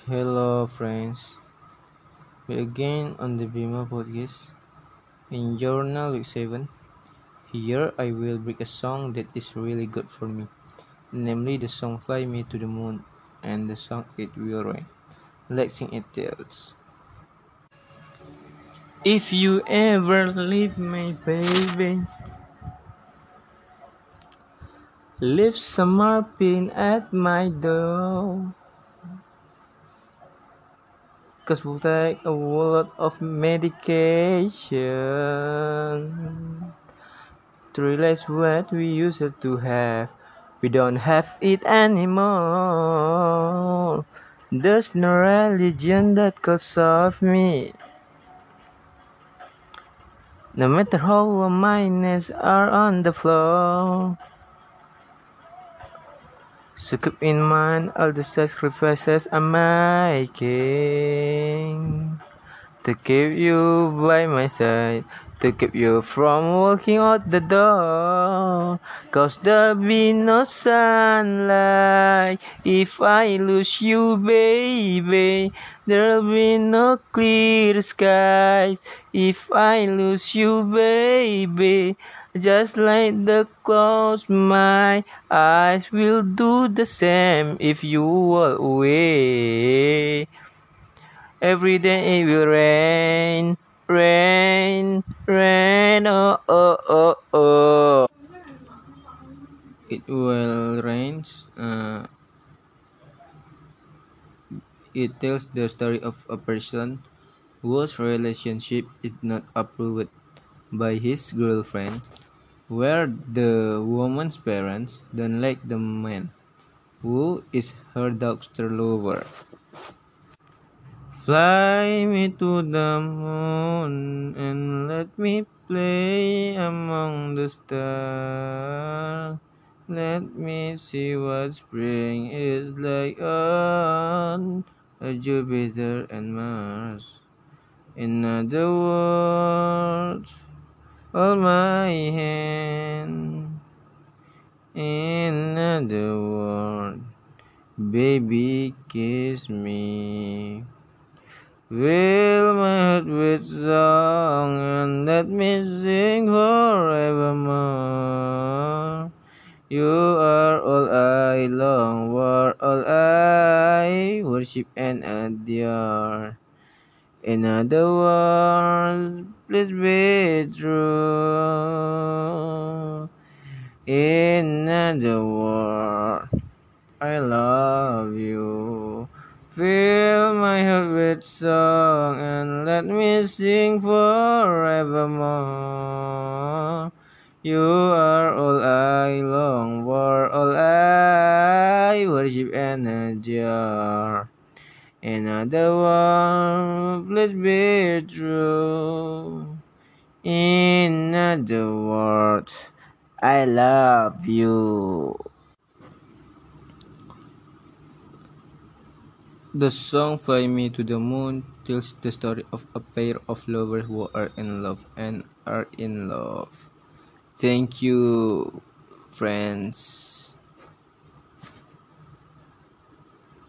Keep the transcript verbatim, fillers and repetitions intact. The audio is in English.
Hello, friends. We again on the Bima podcast in Journal Week seven. Here I will bring a song that is really good for me, namely the song Fly Me to the Moon and the song It Will Rain. Let's sing it tells. If you ever leave me, baby, leave some morphine at my door. Cause we'll take a lot of medication to realize what we used to have. We don't have it anymore. There's no religion that could solve me. No matter how my knees are on the floor. So keep in mind all the sacrifices I'm making to keep you by my side, to keep you from walking out the door. Cause there'll be no sunlight if I lose you, baby. There'll be no clear sky if I lose you, baby. Just like the clouds, my eyes will do the same if you walk away. Every day it will rain, rain, rain, oh, oh, oh, oh. It will rain. Uh, it tells the story of a person whose relationship is not approved by his girlfriend, where the woman's parents don't like the man who is her doctor lover. Fly me to the moon and let me play among the stars. Let me see what spring is like on a Jupiter and Mars. In other words, hold my hand. In other words, baby, kiss me. Fill my heart with song and let me sing forevermore. You are all I long for, all I worship and adore. In other words, please be true. In other words, I love you. Fill my heart with song and let me sing forevermore. You are all I long for, all I worship and adore. In other words, please be true. In other words, I love you. The song Fly Me to the Moon tells the story of a pair of lovers who are in love and are in love. Thank you, friends.